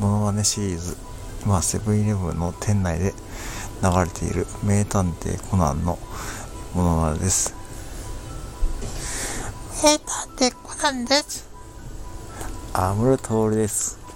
モノマネシリーズ、今セブンイレブンの店内で流れている名探偵コナンのモノマネです。 名探偵コナンです。 安室透です。